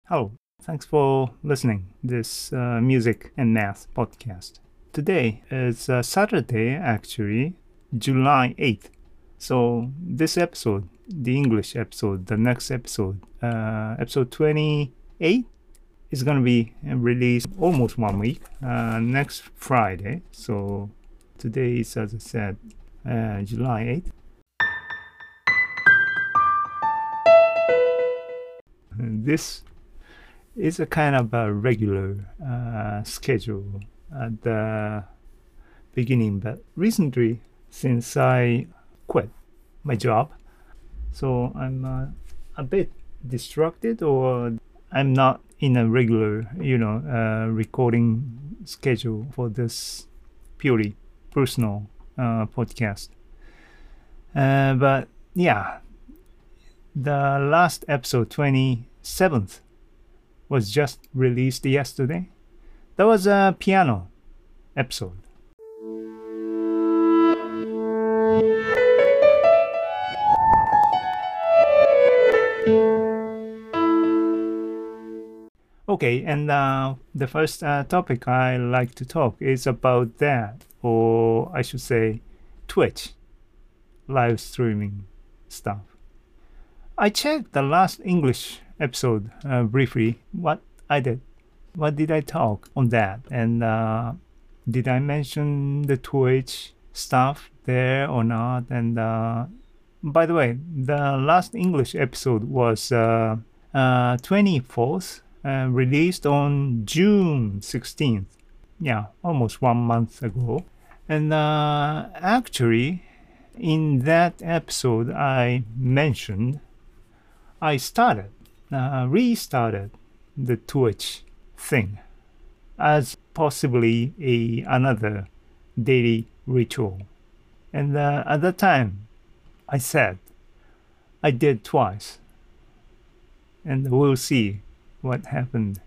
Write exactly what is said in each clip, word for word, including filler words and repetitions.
Hello, thanks for listening this uh, music and math podcast. Today is uh, Saturday, actually, July eighth. So this episode, the English episode, the next episode, uh, episode twenty-eight, is going to be released almost one week, uh, next Friday. So today is, as I said, uh, July eighth. And this is a kind of a regular uh, schedule at the beginning, but recently, since I quit my job, so I'm uh, a bit distracted, or I'm not in a regular, you know, uh, recording schedule for this purely personal uh, podcast. Uh, but yeah, the last episode, twenty-seventh, was just released yesterday. That was a piano episode. Okay, and uh, the first uh, topic I like to talk is about that, or I should say, Twitch live streaming stuff. I checked the last English episode uh, briefly, what I did. What did I talk on that? And uh, did I mention the Twitch stuff there or not? And uh, by the way, the last English episode was uh, uh, twenty-fourth, uh, released on June sixteenth. Yeah, almost one month ago. And uh, actually, in that episode, I mentioned I started, uh, restarted the Twitch thing as possibly a another daily ritual. And uh, at that time, I said I did twice, and we'll see what happened.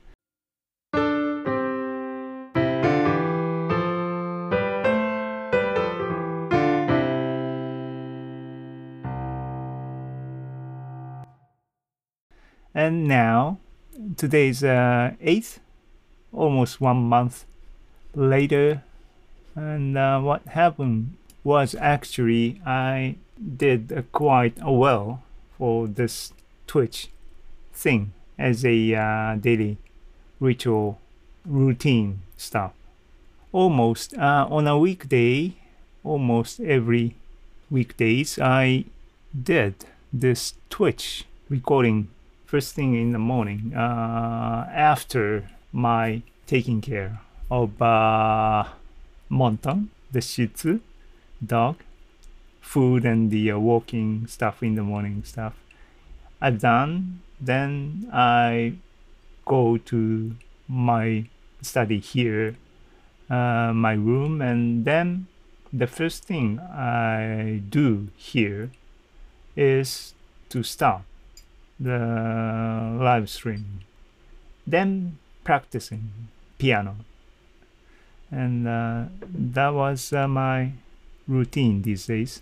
And now, today's uh, eighth, almost one month later, and uh, what happened was actually I did uh, quite well for this Twitch thing as a uh, daily ritual routine stuff. Almost uh, on a weekday, almost every weekdays, I did this Twitch recording first thing in the morning, uh, after my taking care of uh, Monton, the Shih Tzu dog, food and the uh, walking stuff in the morning stuff I've done. Then I go to my study here, uh, my room, and then the first thing I do here is to start the live stream, then practicing piano, and uh, that was uh, my routine these days.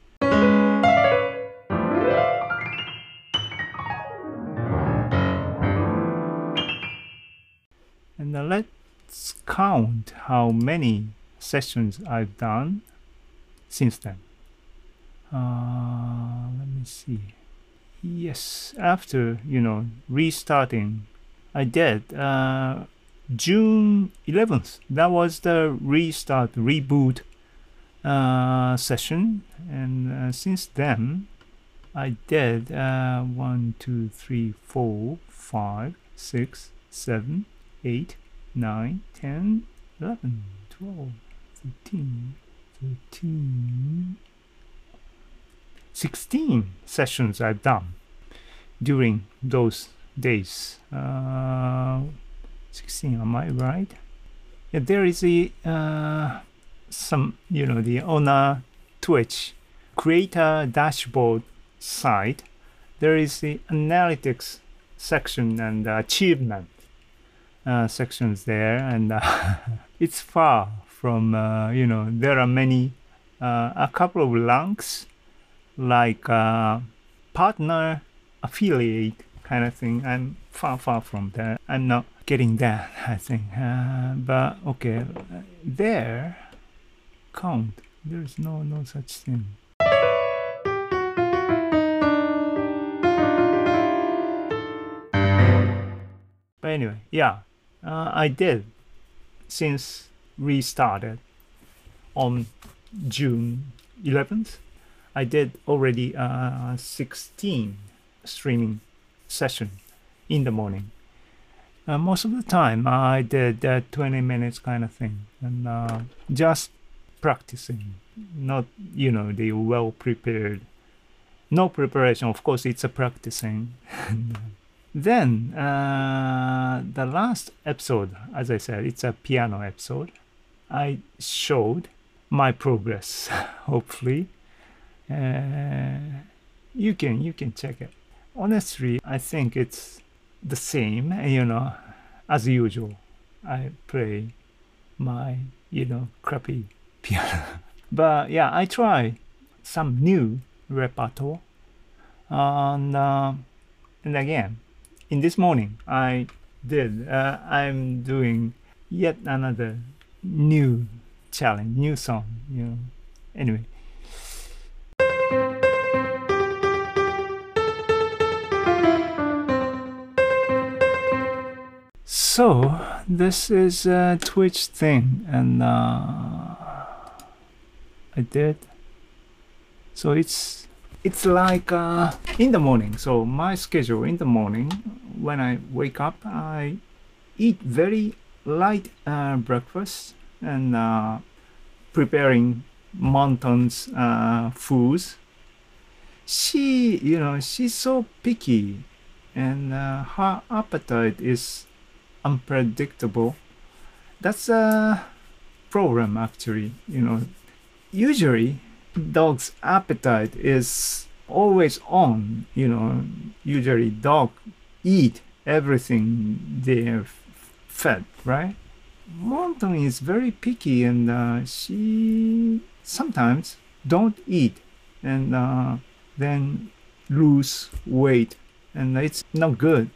And uh, let's count how many sessions I've done since then. Uh, let me see. Yes, after, you know, restarting, I did uh, June eleventh. That was the restart, reboot uh, session. And uh, since then, I did uh, one, two, three, four, five, six, seven, eight, nine, ten, eleven, twelve, thirteen, thirteen, sixteen sessions I've done during those days. Uh, sixteen, am I right? Yeah, there is a uh, some, you know, the on a Twitch creator dashboard site. There is the analytics section and achievement uh, sections there, and uh, it's far from uh, you know, there are many uh, a couple of ranks like uh, partner affiliate kind of thing. I'm far, far from that. I'm not getting that, I think. Uh, but okay, there, count. There's no no such thing. But anyway, yeah, uh, I did since we started on June eleventh. I did already uh, sixteen streaming session in the morning. Uh, most of the time I did uh, twenty minutes kind of thing, and uh, just practicing, not, you know, the well prepared, no preparation. Of course, it's a practicing. Then uh, the last episode, as I said, it's a piano episode. I showed my progress. Hopefully, uh, you can you can check it. Honestly, I think it's the same. You know, as usual, I play my you know crappy piano. But yeah, I try some new repertoire, and uh, and again. In this morning, I did. Uh, I'm doing yet another new challenge, new song. You know. Anyway. So this is a Twitch thing, and uh, I did. So it's. It's like uh, in the morning. So my schedule in the morning, when I wake up, I eat very light uh, breakfast and uh, preparing Monton's uh, foods. She, you know, she's so picky, and uh, her appetite is unpredictable. That's a problem, actually. You know, usually. Dog's appetite is always on, you know. Usually dog eat everything they're fed, right? Monton is very picky, and uh, she sometimes don't eat and uh, then lose weight, and it's not good.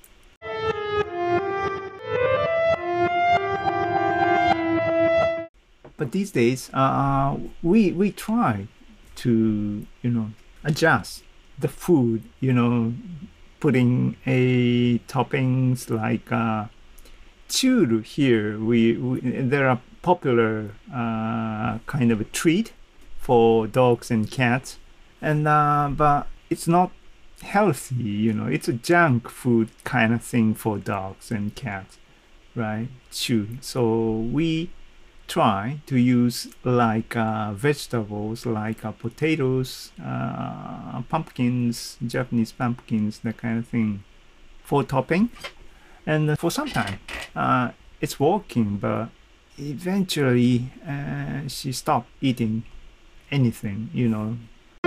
But these days, uh, we we try to you know adjust the food, you know, putting a toppings like uh, churu here. We, we there are popular uh, kind of a treat for dogs and cats, and uh, but it's not healthy, you know. It's a junk food kind of thing for dogs and cats, right? Churu. So we try to use like uh, vegetables like uh, potatoes, uh, pumpkins, Japanese pumpkins, that kind of thing for topping. And for some time uh, it's working, but eventually uh, she stopped eating anything, you know.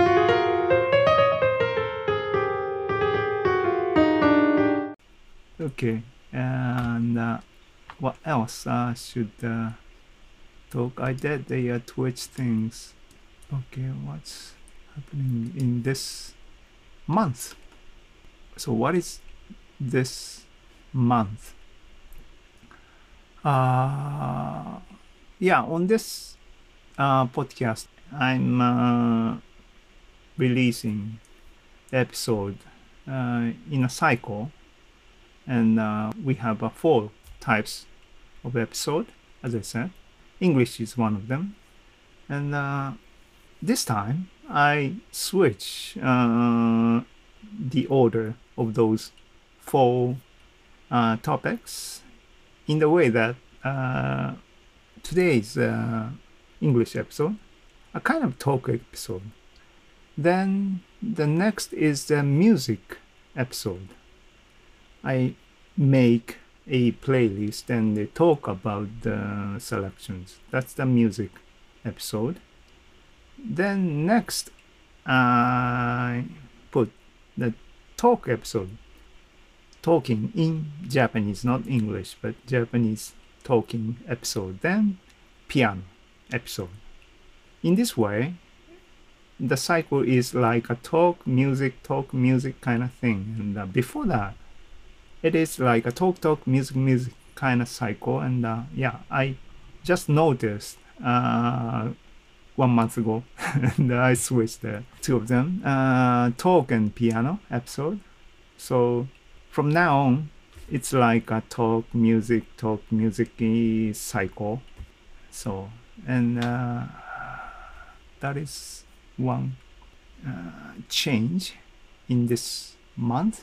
Okay, and uh, what else uh, should uh, talk? I did the uh, Twitch things. Okay, what's happening in this month? So what is this month? Uh, yeah, on this uh, podcast, I'm uh, releasing episode uh, in a cycle, and uh, we have uh, four types of episode, as I said. English is one of them, and uh, this time I switch uh, the order of those four uh, topics in the way that uh, today's uh, English episode, a kind of talk episode. Then the next is the music episode. I make a playlist and they talk about the selections. That's the music episode. Then next I put the talk episode, talking in Japanese, not English, but Japanese talking episode. Then piano episode. In this way, the cycle is like a talk music talk music kind of thing. And uh, before that, it is like a talk talk music music kind of cycle. And uh, yeah, I just noticed uh, one month ago, and I switched the two of them, uh, talk and piano episode. So from now on, it's like a talk music talk music cycle. So and uh, that is one uh, change in this month.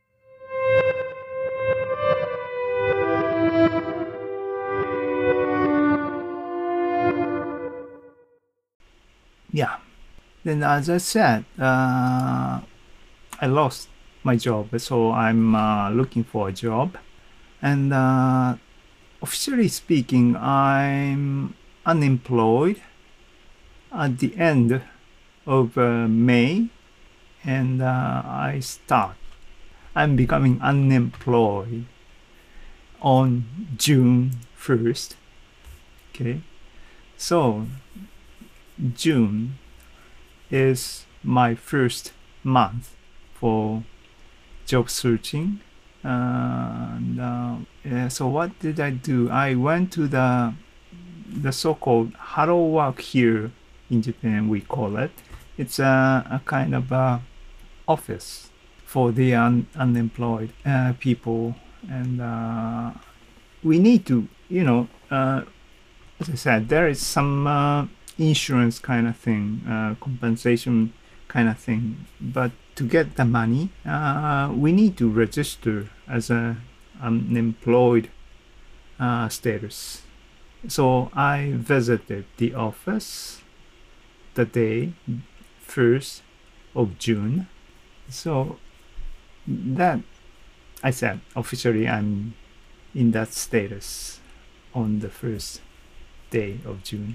Yeah. Then, as I said, uh, I lost my job, so I'm uh, looking for a job. And uh, officially speaking, I'm unemployed at the end of uh, May, and uh, I start. I'm becoming unemployed on June first. Okay, so June is my first month for job searching. Uh, and uh, yeah, so what did I do? I went to the the so-called Hello Work here in Japan, we call it. It's a, a kind of a office for the un- unemployed uh, people, and uh, we need to, you know, uh, as I said, there is some uh, insurance kind of thing, uh, compensation kind of thing. But to get the money, uh, we need to register as a unemployed uh, status. So I visited the office the day first of June. So that I said officially I'm in that status on the first day of June.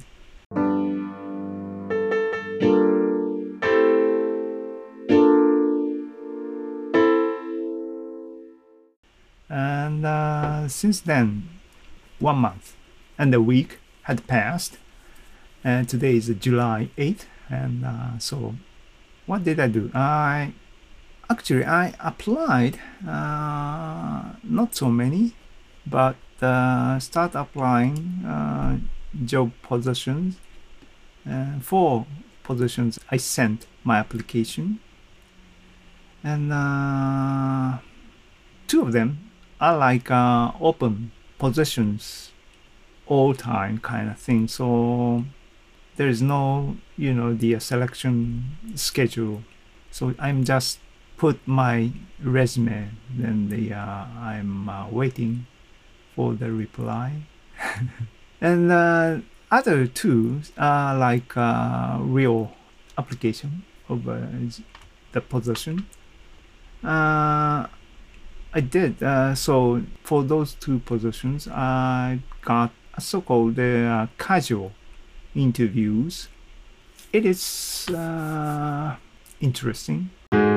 And uh, since then, one month and a week had passed, and today is July eighth. And uh, so what did I do? I actually I applied uh, not so many, but uh, start applying uh, job positions. Uh, four positions I sent my application, and uh, two of them are like uh, open positions all time kind of thing. So there is no, you know, the uh, selection schedule. So I'm just put my resume, then the uh, I'm uh, waiting for the reply. And uh, other two are like uh, real application of uh, the position. Uh, I did. Uh, so for those two positions, I got a so-called uh, casual interviews. It is uh, interesting.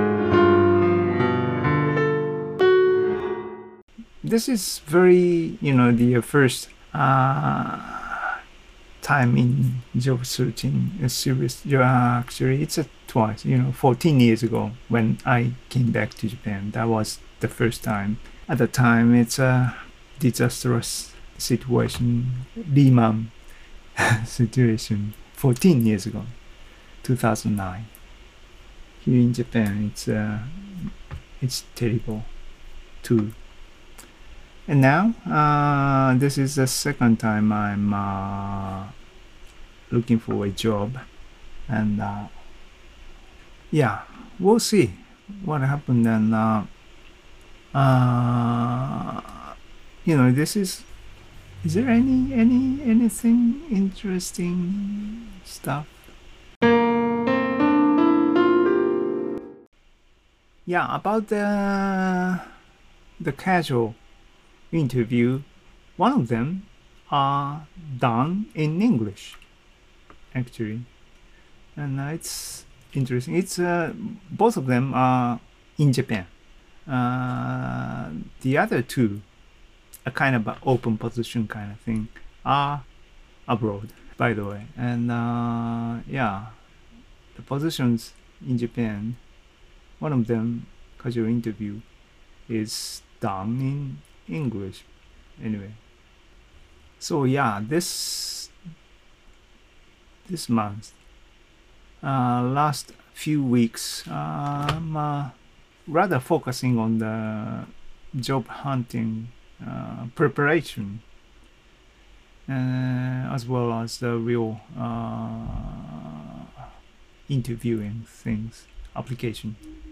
This is very, you know, the first uh, time in job searching a serious. Uh, actually, it's a twice. You know, fourteen years ago when I came back to Japan. That was the first time. At the time, it's a disastrous situation, Lehman situation. fourteen years ago, two thousand nine. Here in Japan, it's uh, it's terrible too. And now, uh, this is the second time I'm uh, looking for a job, and uh, yeah, we'll see what happened. And uh, uh, you know, this is. Is there any any anything interesting stuff? Yeah, about the the casual interview, one of them are done in English, actually, and uh, it's interesting. It's uh, both of them are in Japan. Uh, the other two, a kind of an open position kind of thing, are abroad, by the way. And uh, yeah, the positions in Japan, one of them, casual interview, is done in English. Anyway, so yeah, this this month, uh, last few weeks, I'm uh, rather focusing on the job hunting uh, preparation, uh, as well as the real uh, interviewing things, application.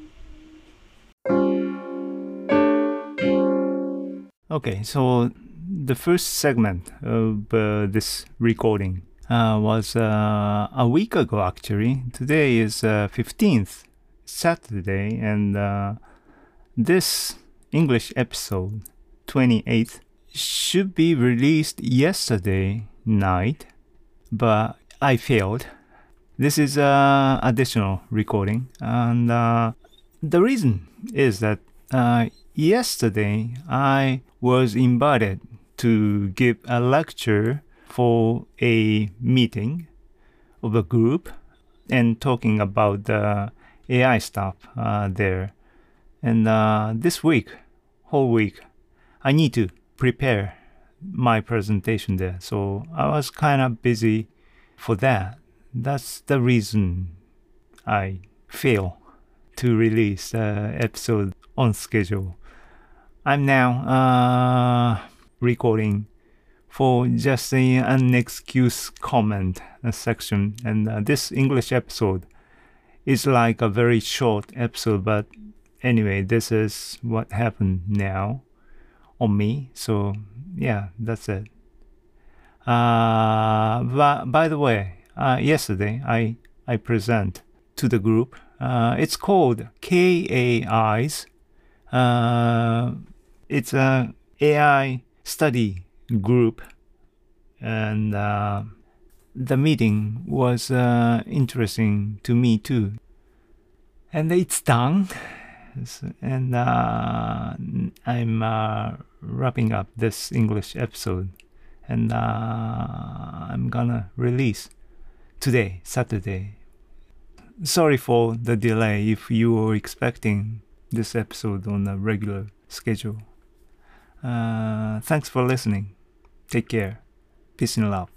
Okay, so the first segment of uh, this recording uh, was uh, a week ago actually. Today is uh, fifteenth, Saturday, and uh, this English episode, twenty-eighth, should be released yesterday night, but I failed. This is an additional recording, and uh, the reason is that uh, yesterday I was invited to give a lecture for a meeting of a group and talking about the A I stuff uh, there. And uh, this week, whole week, I need to prepare my presentation there. So I was kind of busy for that. That's the reason I fail to release the episode on schedule. I'm now uh, recording for just a, an excuse comment uh, section, and uh, this English episode is like a very short episode, but anyway, this is what happened now on me. So yeah, that's it. Uh, but by the way, uh, yesterday I I present to the group. Uh, it's called K A Eyes. Uh, it's a A I study group, and uh, the meeting was uh, interesting to me too. And it's done, and uh, I'm uh, wrapping up this English episode, and uh, I'm gonna release today, Saturday. Sorry for the delay if you were expecting this episode on a regular schedule. Uh, thanks for listening. Take care. Peace and love.